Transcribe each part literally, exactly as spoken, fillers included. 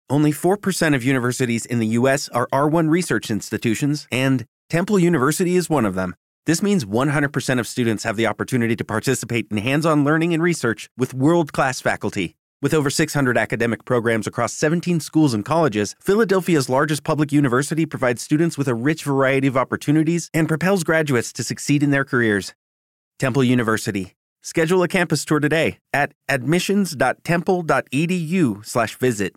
Only four percent of universities in the U S are R one research institutions, and Temple University is one of them. This means one hundred percent of students have the opportunity to participate in hands-on learning and research with world-class faculty. With over six hundred academic programs across seventeen schools and colleges, Philadelphia's largest public university provides students with a rich variety of opportunities and propels graduates to succeed in their careers. Temple University. Schedule a campus tour today at admissions dot temple dot e d u slash visit.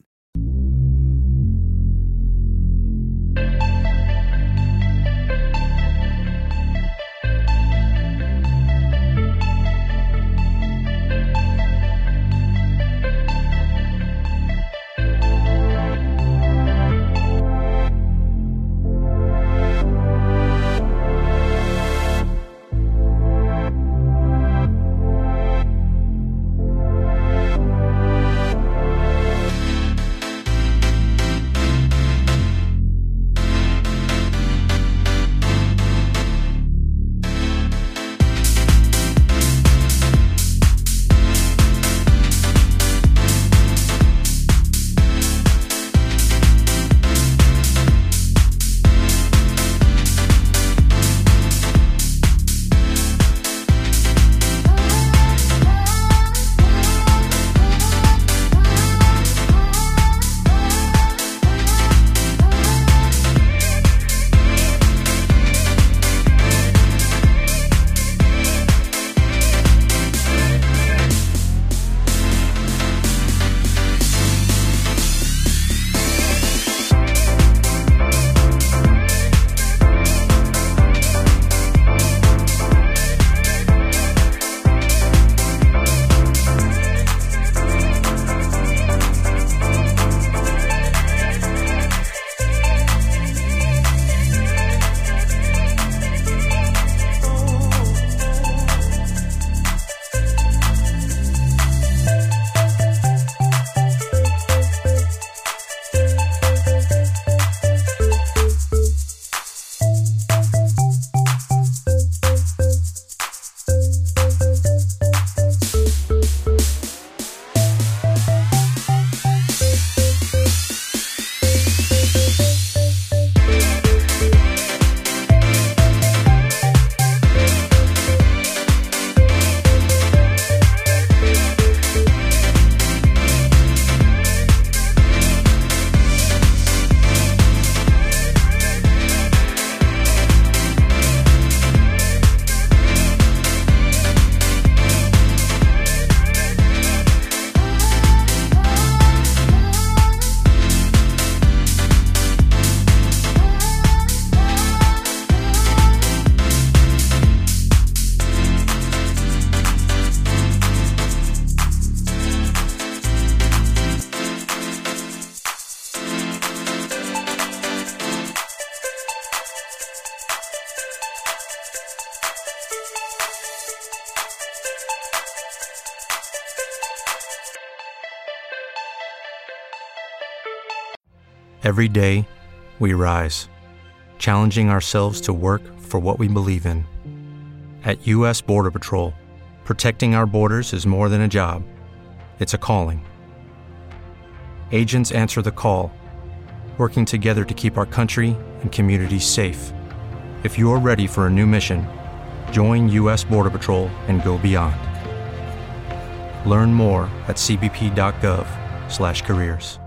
Every day, we rise, challenging ourselves to work for what we believe in. At U S Border Patrol, protecting our borders is more than a job. It's a calling. Agents answer the call, working together to keep our country and communities safe. If you're ready for a new mission, join U S Border Patrol and go beyond. Learn more at c b p dot gov slash careers.